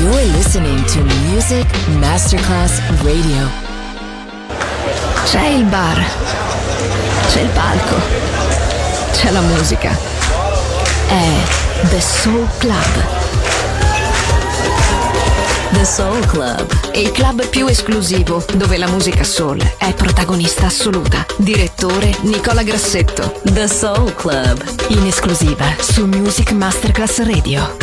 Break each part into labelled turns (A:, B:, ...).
A: You're listening to Music Masterclass Radio.
B: C'è il bar, c'è il palco, c'è la musica. È The Soul Club. The Soul Club, il club più esclusivo dove la musica soul è protagonista assoluta. Direttore Nicola Grassetto. The Soul Club, in esclusiva su Music Masterclass Radio.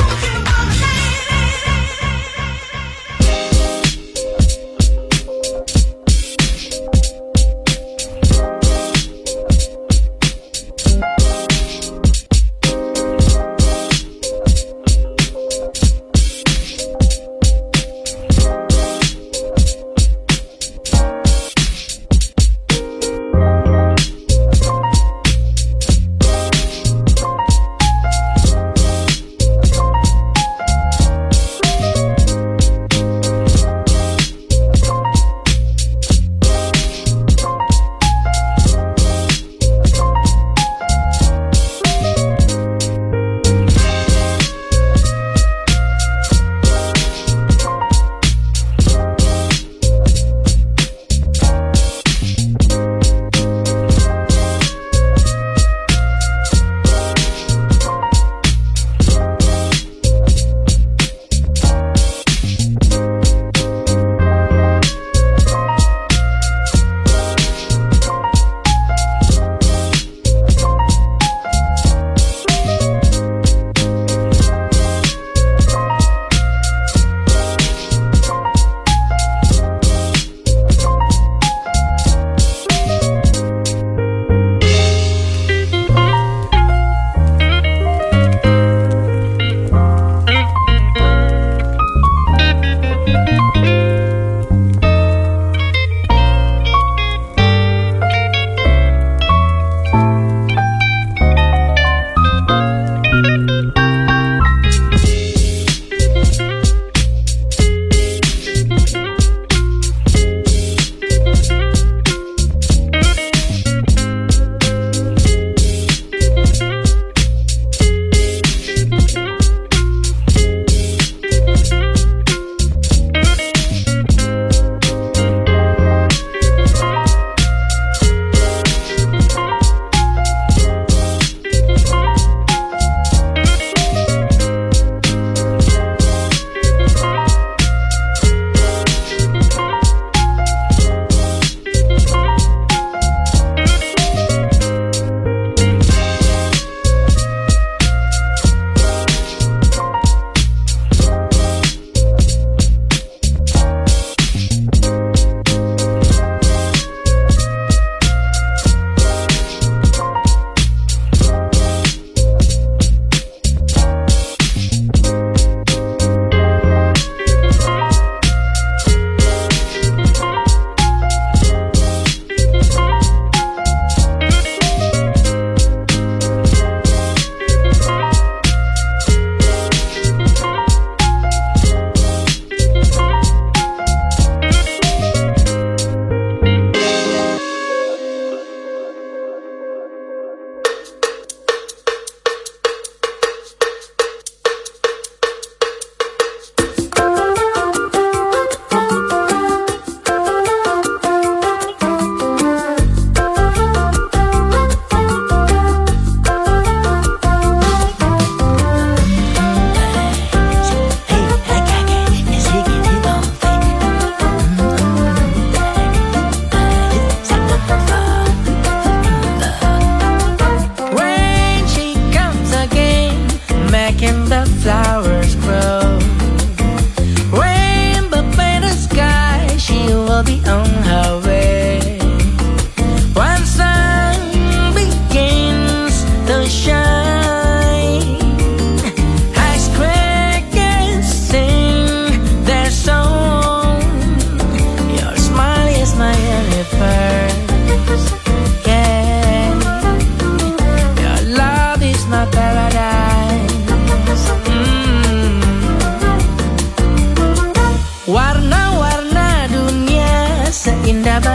C: Warna-warna dunia seindah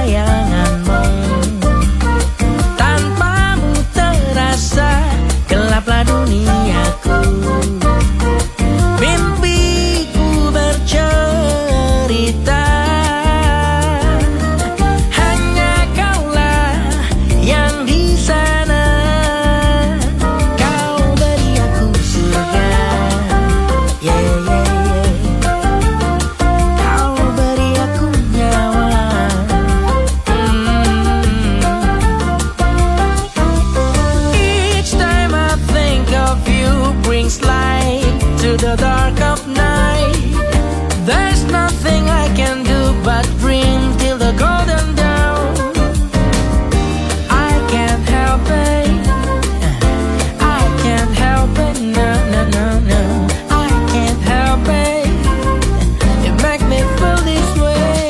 C: dark of night. There's nothing I can do but dream till the golden dawn. I can't help it, I can't help it, no, no, no, no. I can't help it, you make me feel this way.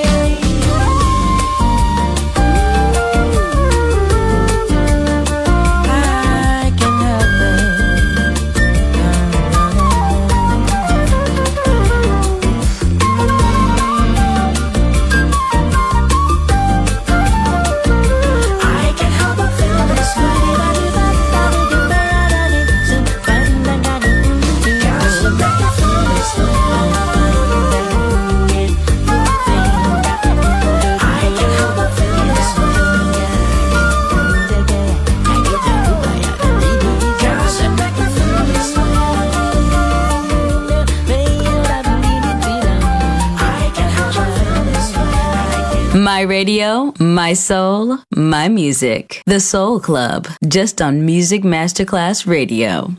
C: I can't help it, I can't help but feel this way. Cause you make me feel this way. I can't help but feel this way. Cause you make me feel this way. I can't help but feel this way.
B: My radio, my soul, my music. The Soul Club, just on Music Masterclass Radio.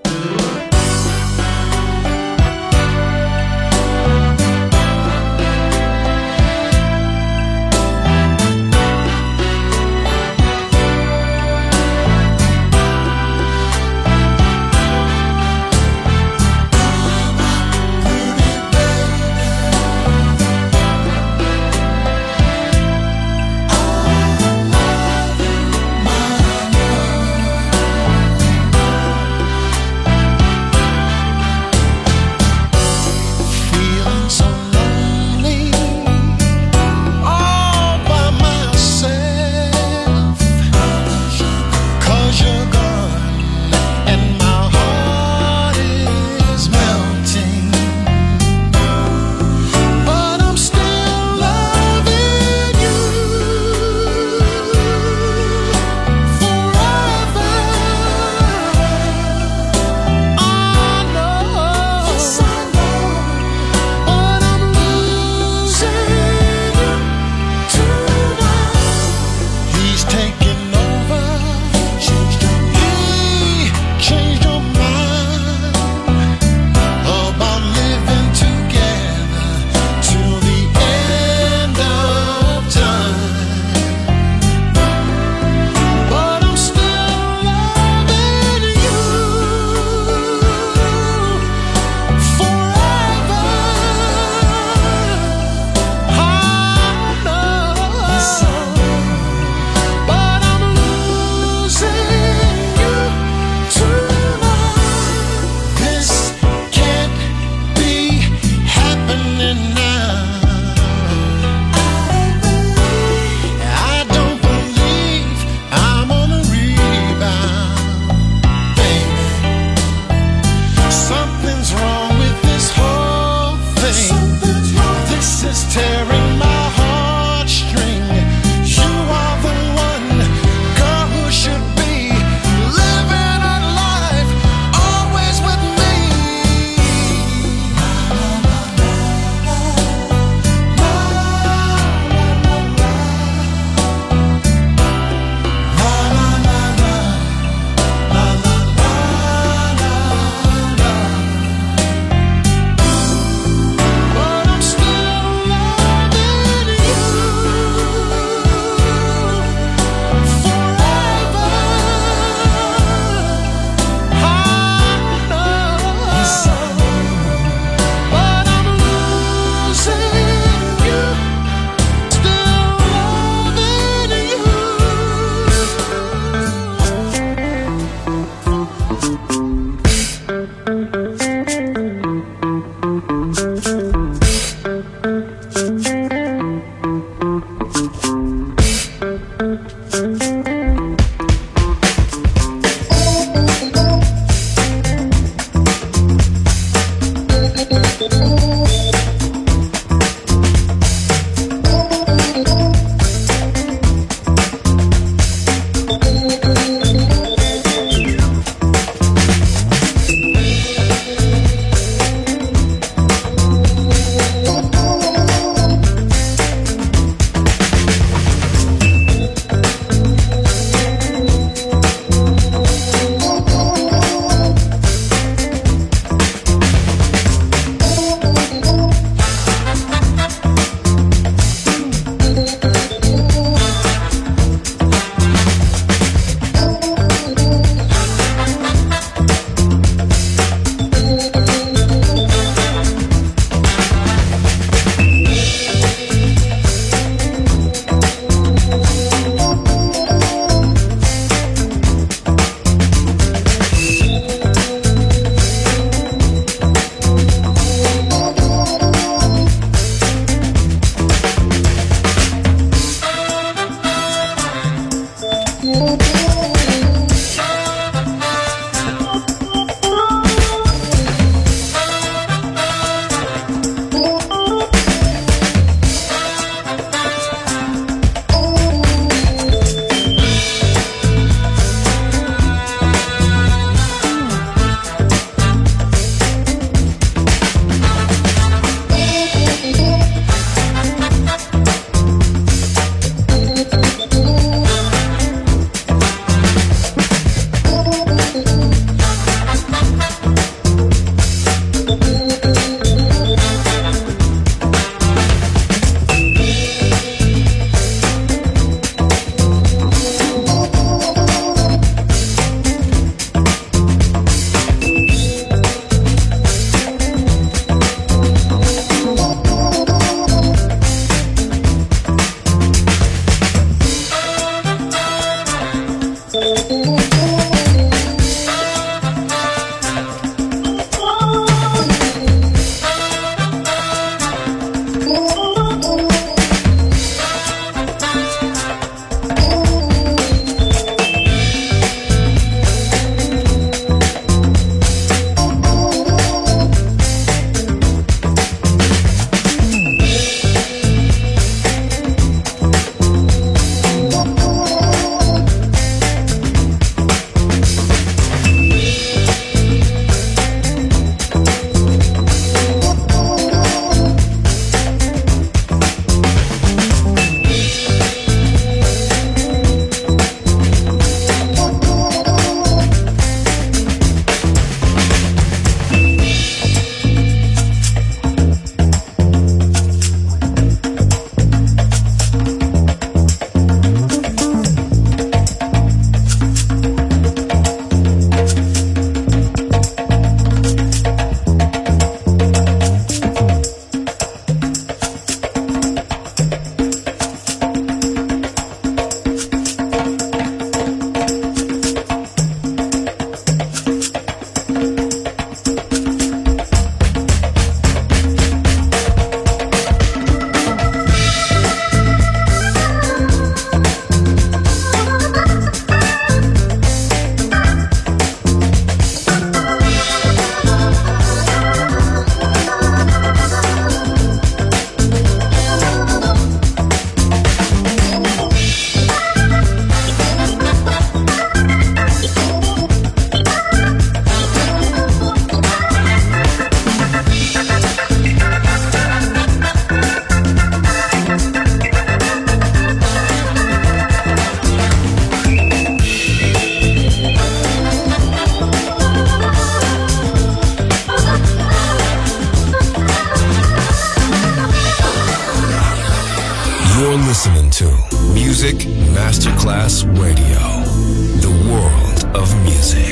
D: listening to Music Masterclass Radio, the world of music.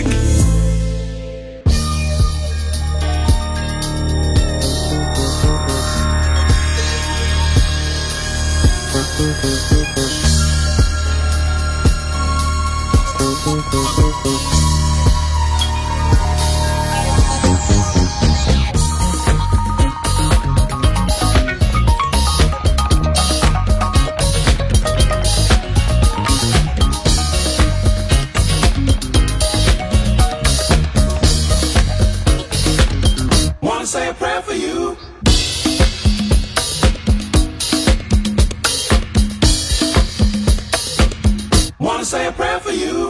E: Say a prayer for you. Wanna say a prayer for you.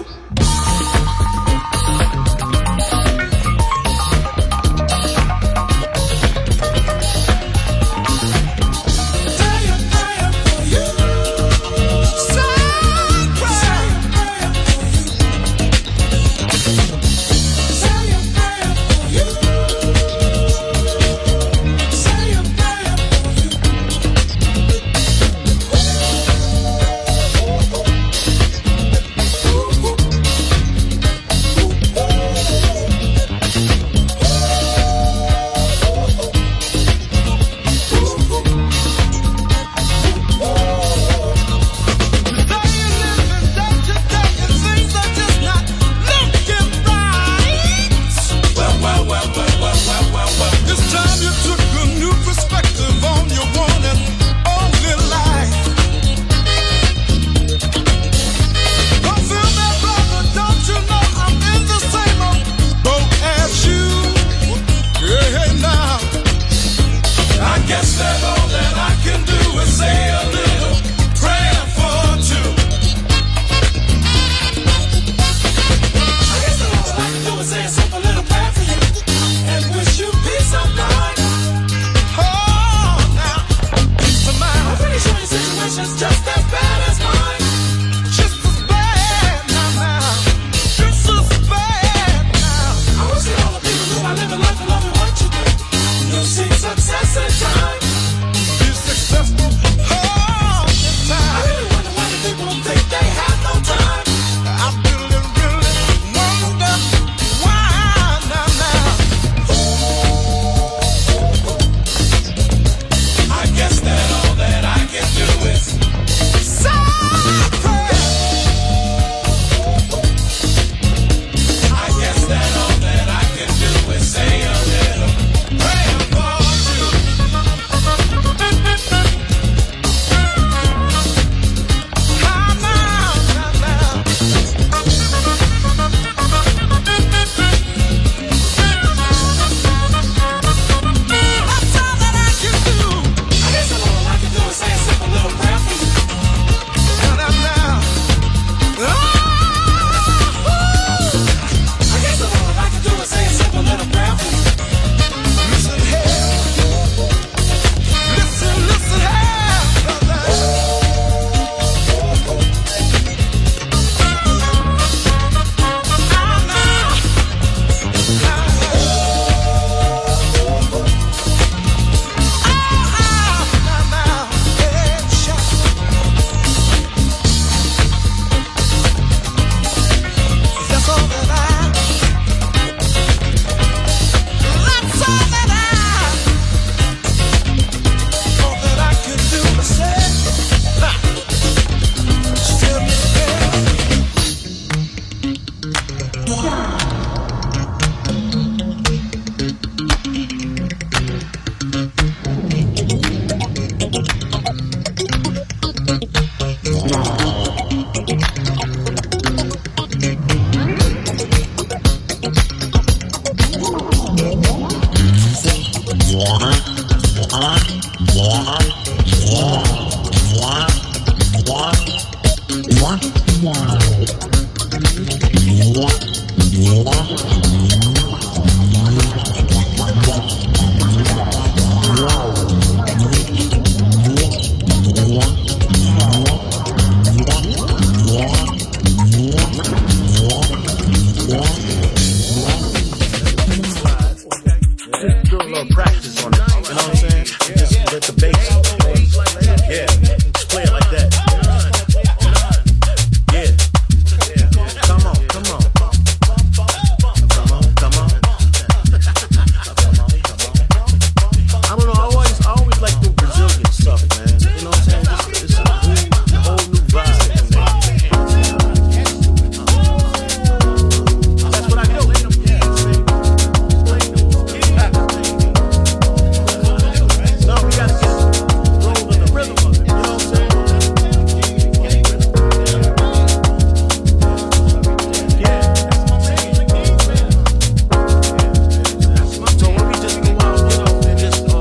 F: play it like that. Yeah. Come on, come on. Come on, come on. I don't know, I always like the Brazilian stuff, man. You know what I'm saying? It's a whole new vibe. That's what I do. No, we gotta get rolled in the rhythm of it. You know what I'm saying? Yeah. So when we just go out, you know, and just hold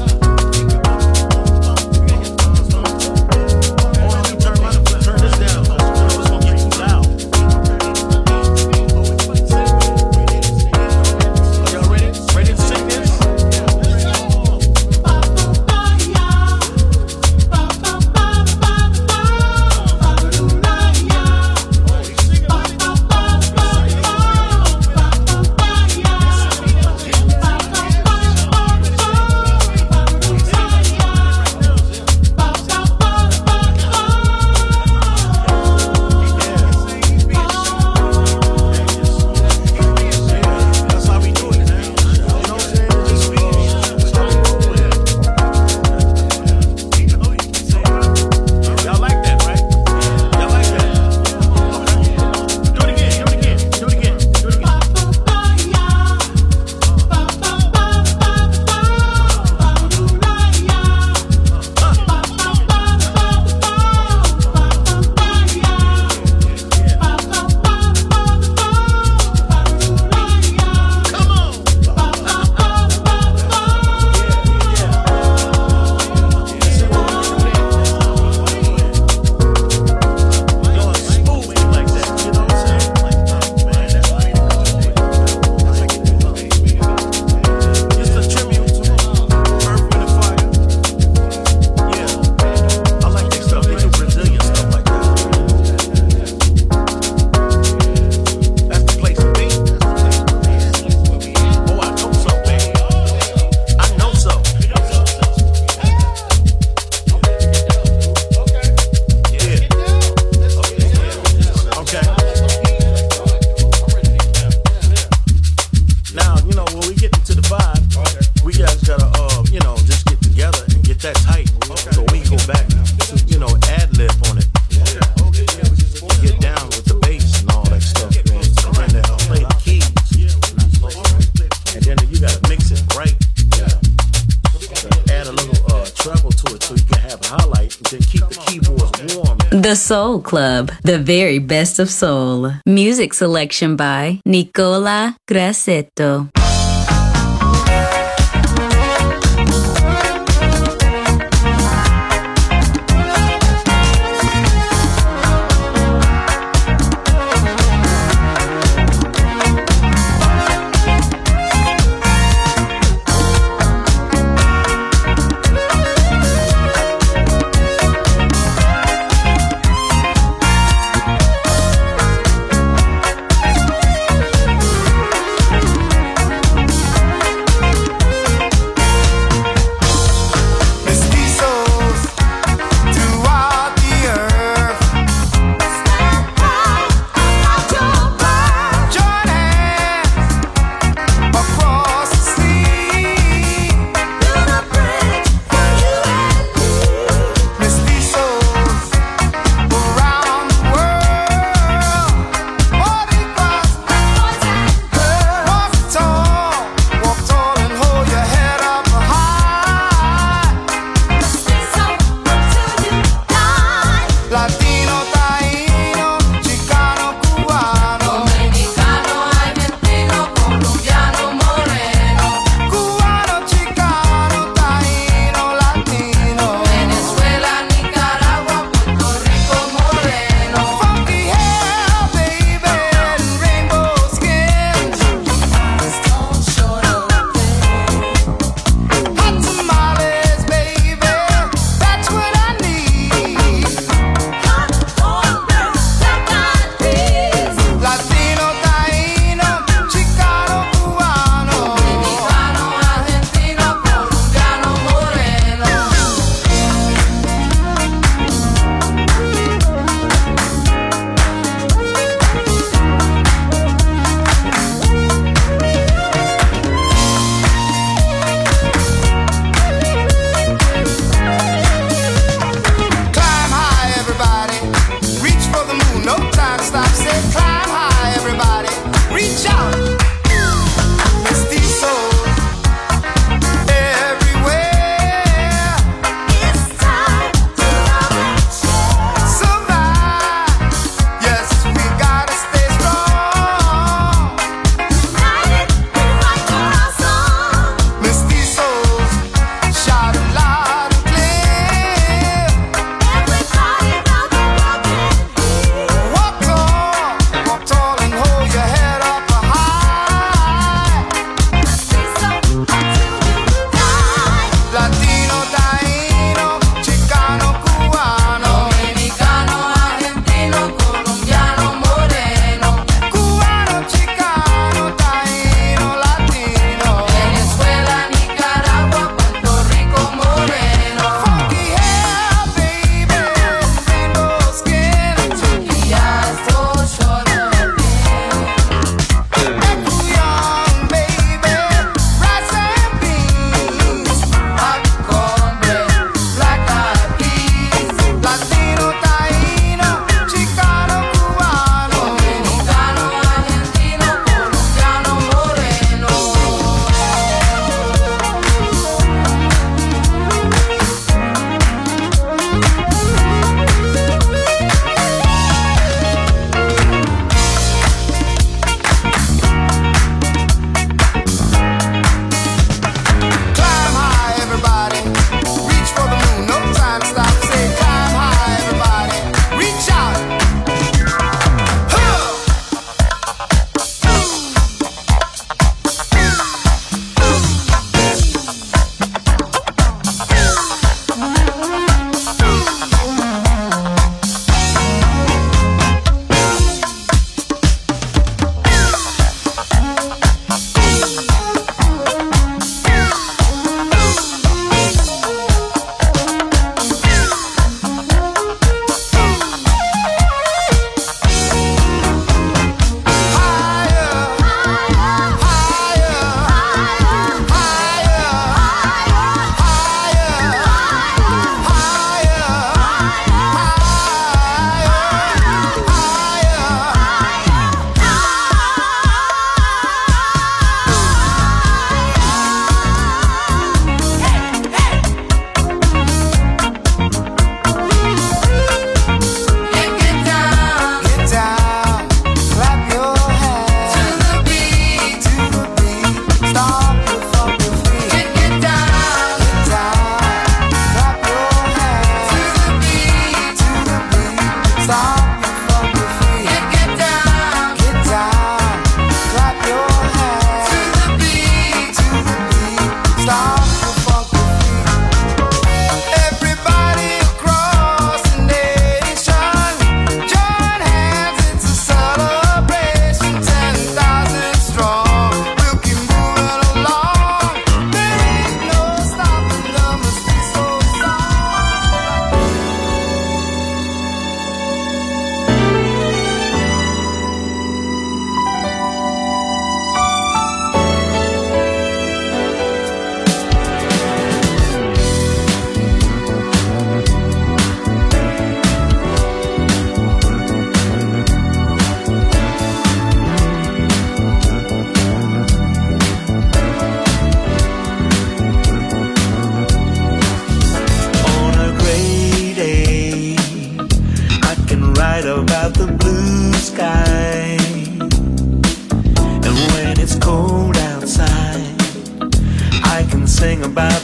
F: on, turn this down. You know, it's gonna get too loud. Are y'all ready? Ready to sing this? That's how we do it, man. You know what I'm saying? Just be y'all like that, right? Y'all like that? Okay. Do it again, do it again, do it again, do it again. Going smoothly like that, you know what I'm saying? Man, that's how you do it. Just a tribute to Earth, Wind & Fire. Yeah, I like their stuff. They do Brazilian stuff like that. That's the place to be. Oh, I know so, baby. I know so. Yeah. Okay. Now, you know, when we get into the vibe, we guys gotta, you know, just get together and get that tight. So we can go back to, you know, ad-lib on it. Get down with the bass and all that stuff, man. And then play the keys. And then you gotta mix it right. Add a little treble to it so you can have a highlight and then keep the keyboards warm.
B: The Soul Club, the very best of soul. Music selection by Nicola Grassetto.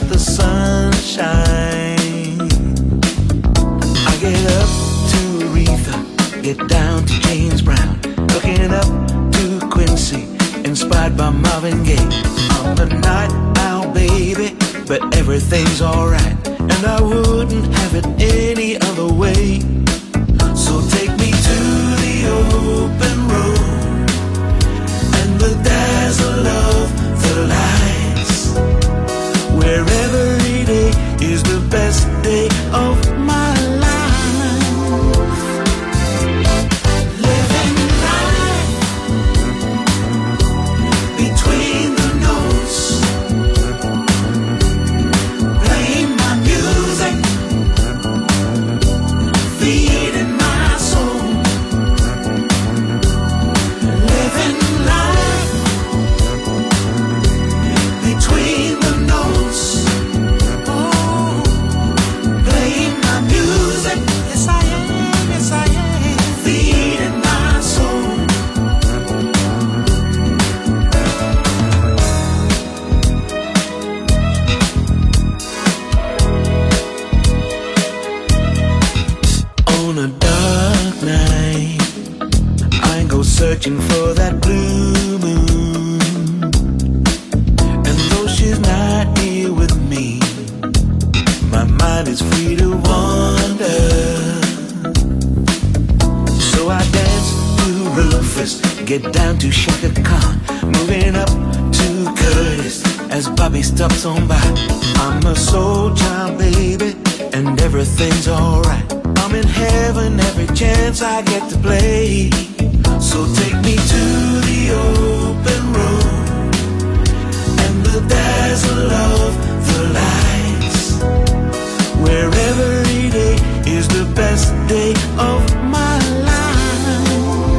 F: the sunshine. I get up to Aretha, get down to James Brown, looking up to Quincy, inspired by Marvin Gaye. I'm the night owl, baby, but everything's alright, and I wouldn't have it any other way. So take me to the open road and the dazzle of the lights, where every day is the best day of my life. Living life between the notes, playing my music, feeding my soul. Living life between the notes, oh, playing my music. Yes I am, yes I am, feeding my soul. On a dark night, I go searching for that blue moon, and though she's not here with me, my mind is free to wander. So I dance to Rufus, get down to Shaka Khan, moving up to Curtis as Bobby stops on by. I'm a soul child, baby, and everything's alright. I'm in heaven every chance I get to play. So take me to the open road and the dazzle of the lights, where every day is the best day of my life.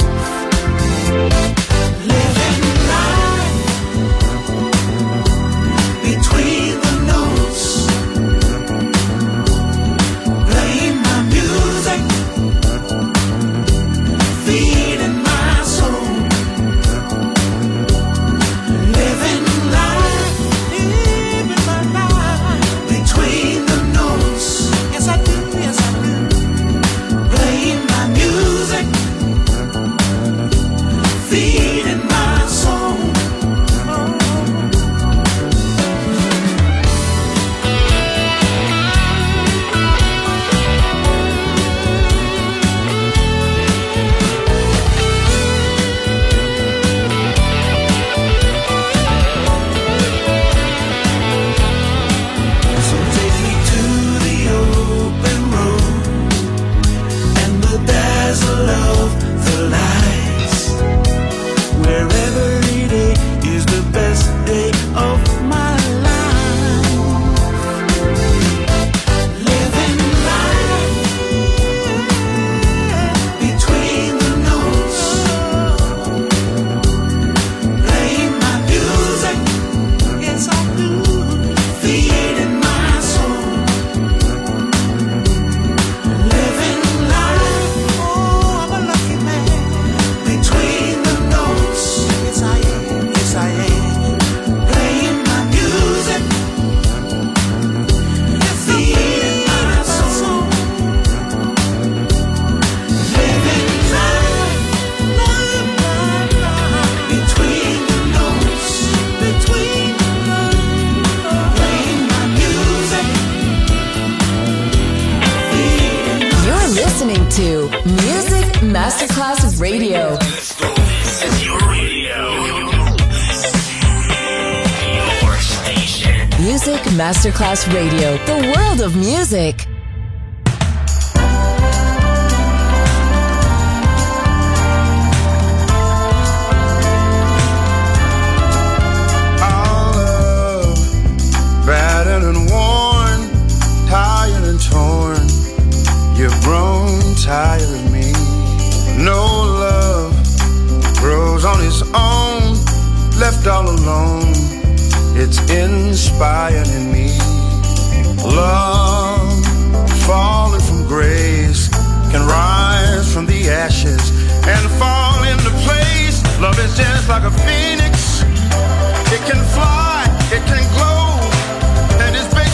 F: Living life between the notes, playing my music, feeding my soul. Living life between the notes. Yes I do, yes I do. Playing my music, feeding my soul. So take me to the open road and the dazzle of the lights, where every day is the best day of my life. Living life between the notes, playing my music. Yes I do, feeding my soul. Living life, oh I'm a lucky man, between the notes. Yes I am, yes I am. Playing my music, feeding my soul. Living life between the notes, between the notes, playing my music, feeding my
B: You're listening to Music Masterclass Radio.
G: This is your radio. Your station.
B: Music Masterclass Radio. The world of music.
H: Our love, battered and worn, tired and torn. You've grown tired of me. No love grows on its own, left all alone. It's inspiring me. Love, falling from grace, can rise from the ashes and fall into place. Love is just like a phoenix. It can fly, it can glow, and it's been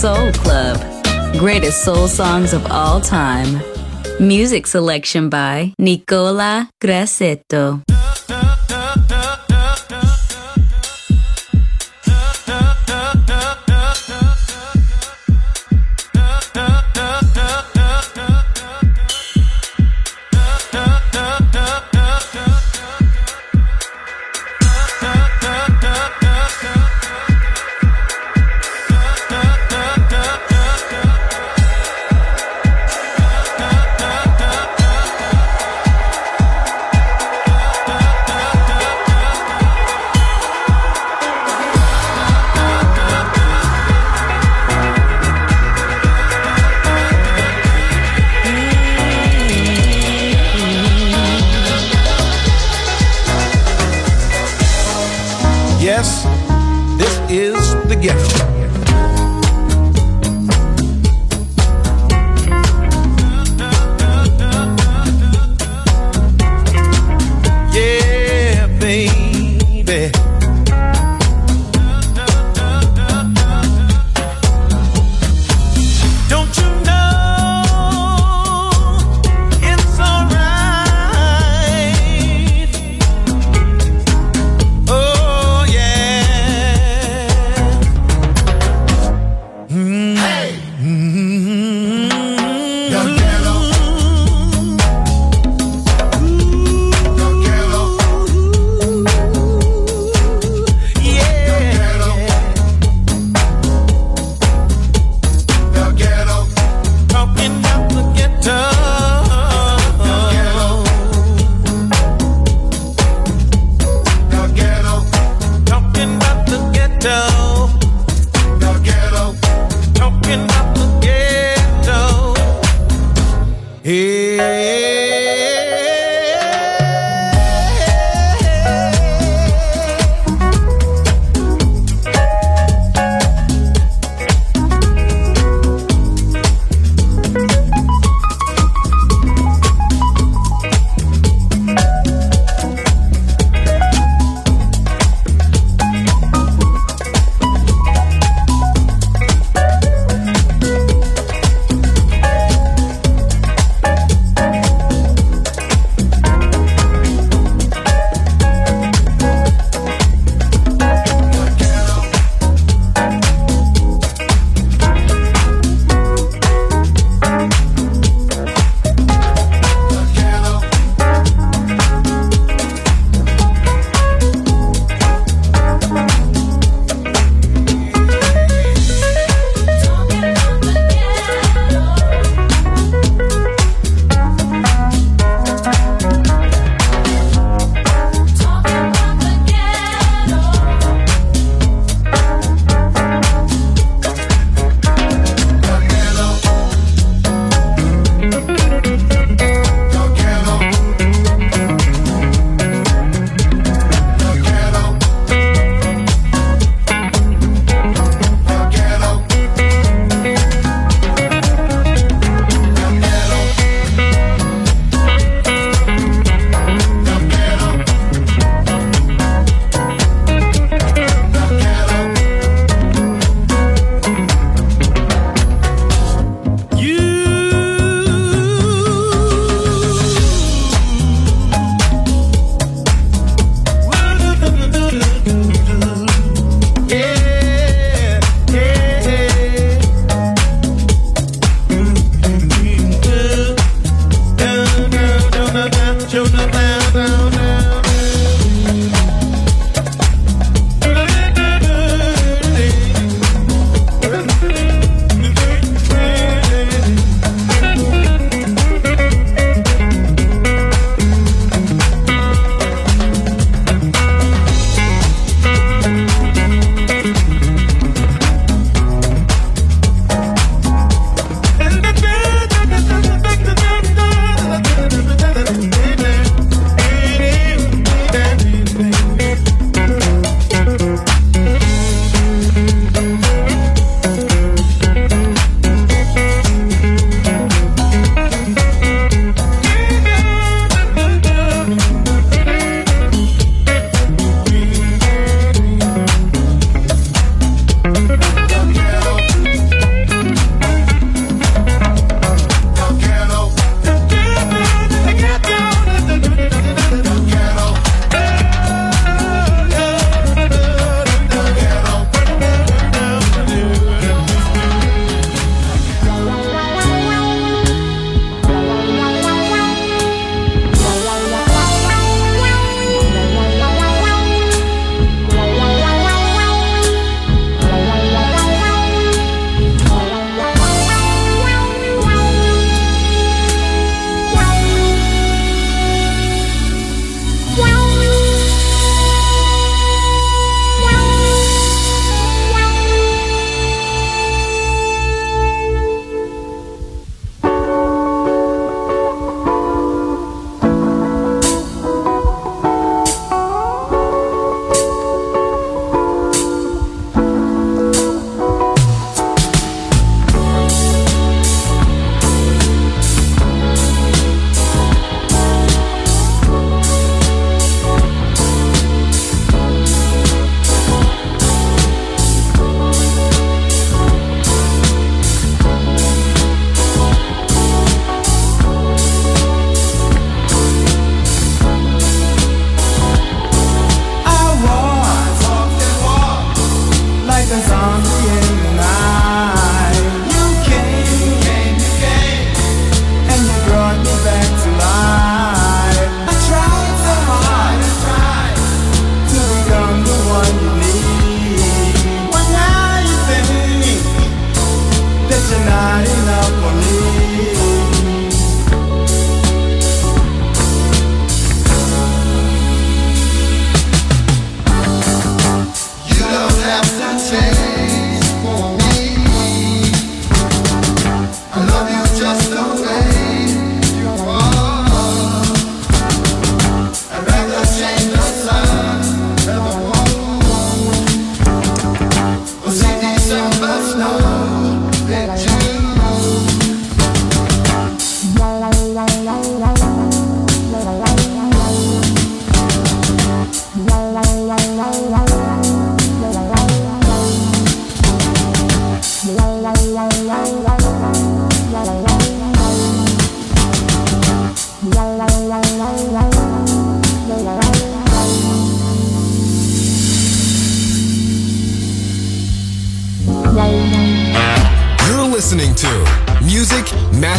I: Soul Club. Greatest soul songs of all time. Music selection by Nicola Grassetto.
E: Yes, this is the ghetto. Yeah, baby. Don't you know it's alright? Oh yeah. Hey.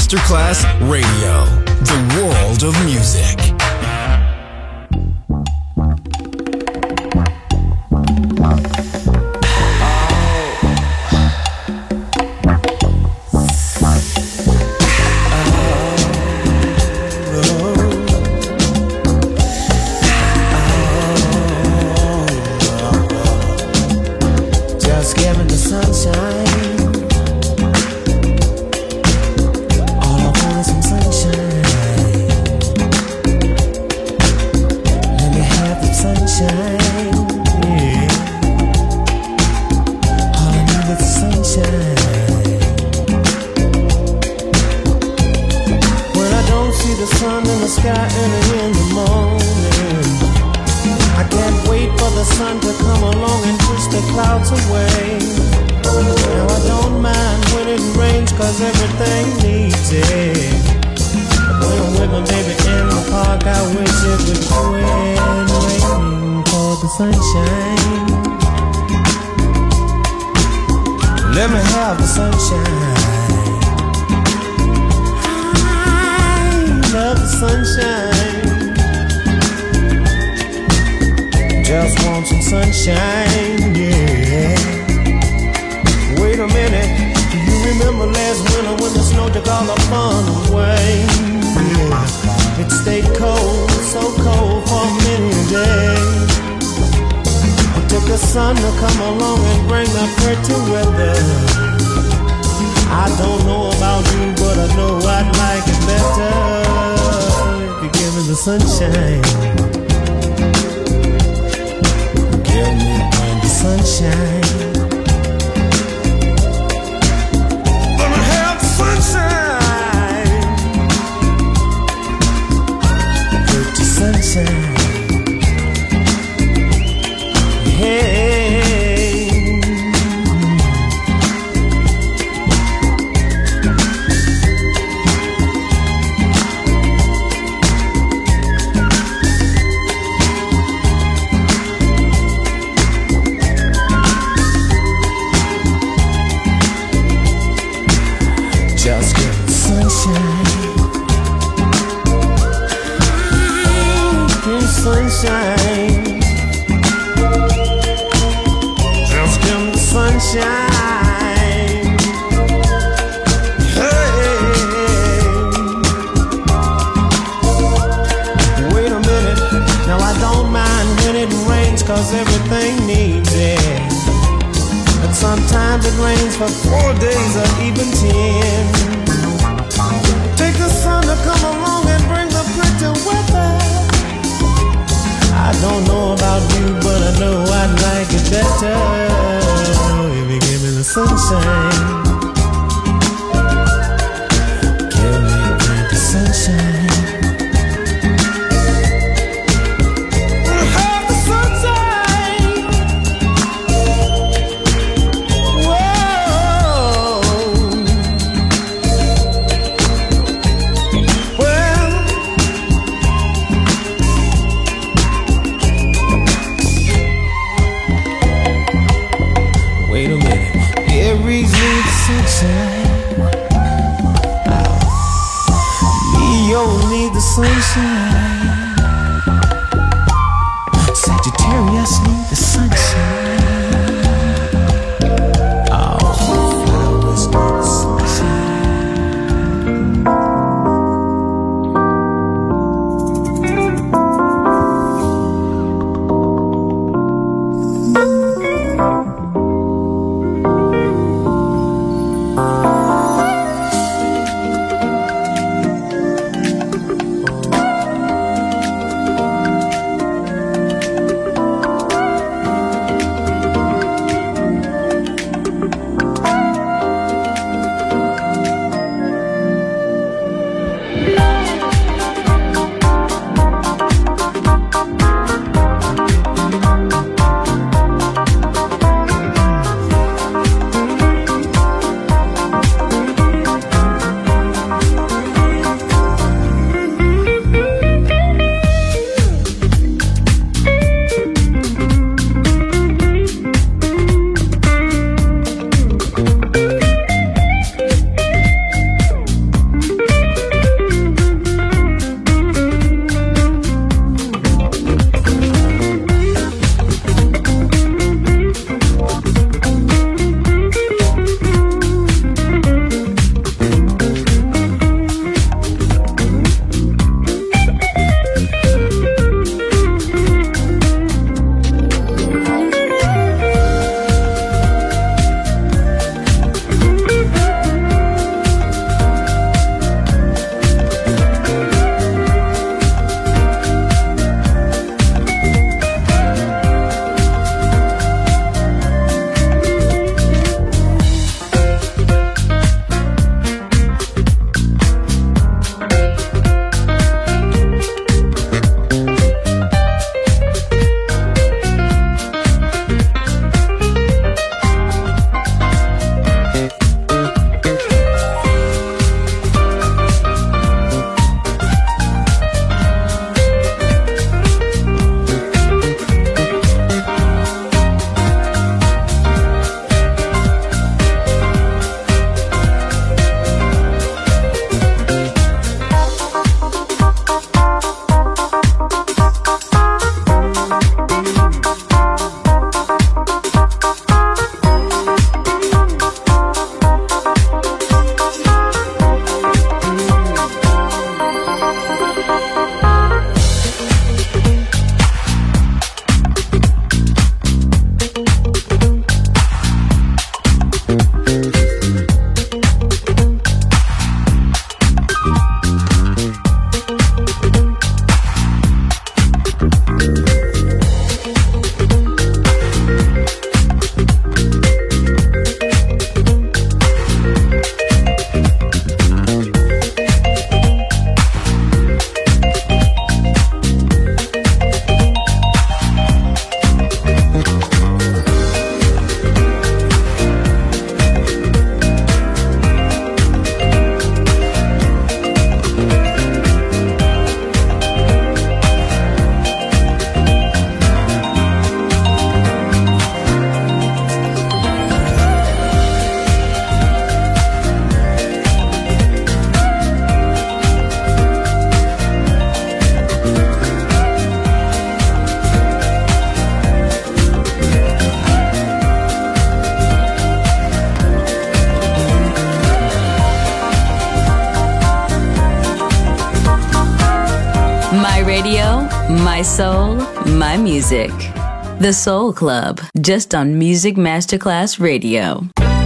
D: Masterclass Radio, the world of music.
I: My soul, my music. The Soul Club, just on Music Masterclass Radio.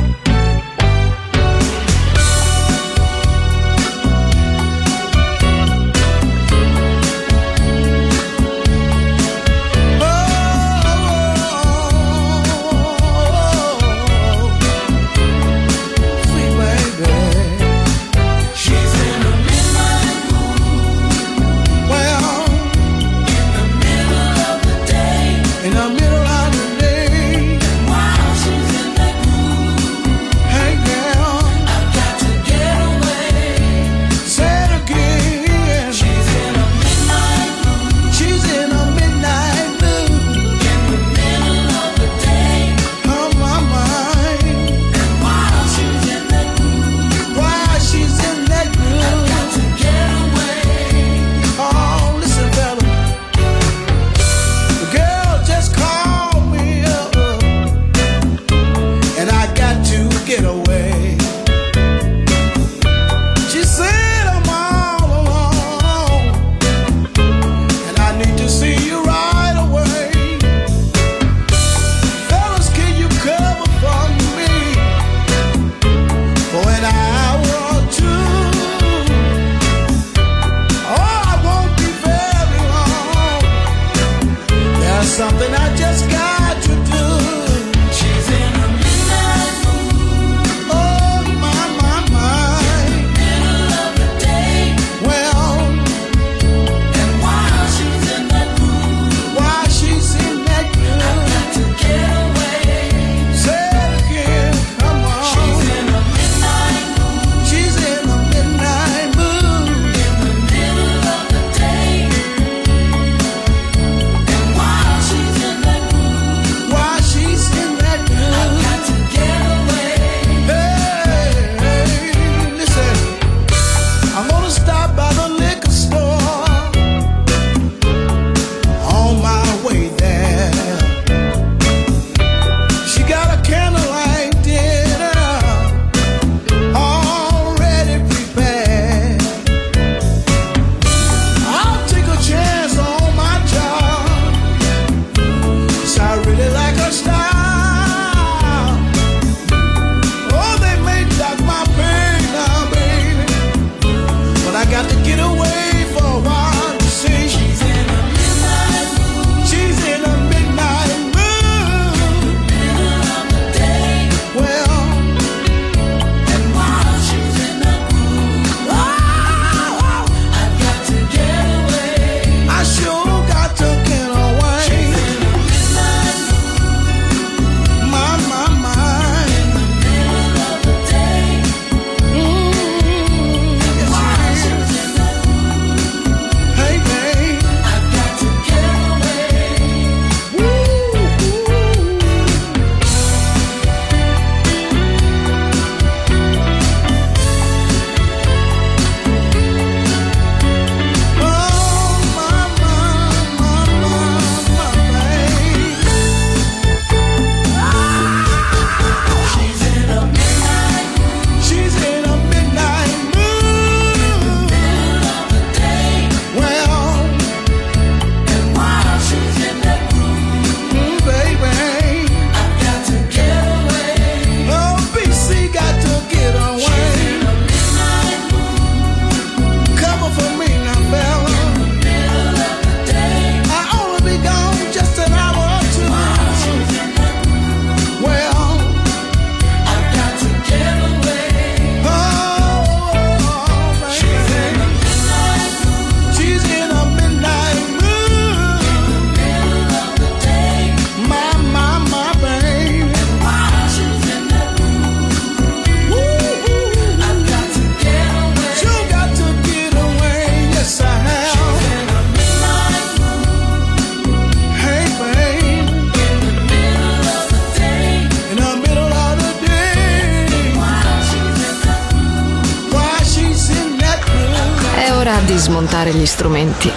B: Di smontare gli strumenti,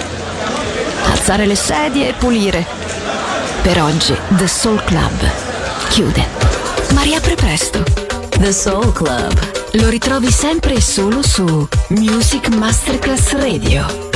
B: alzare le sedie e pulire. Per oggi The Soul Club chiude, ma riapre presto.
I: The Soul Club
B: lo ritrovi sempre e solo su Music Masterclass Radio.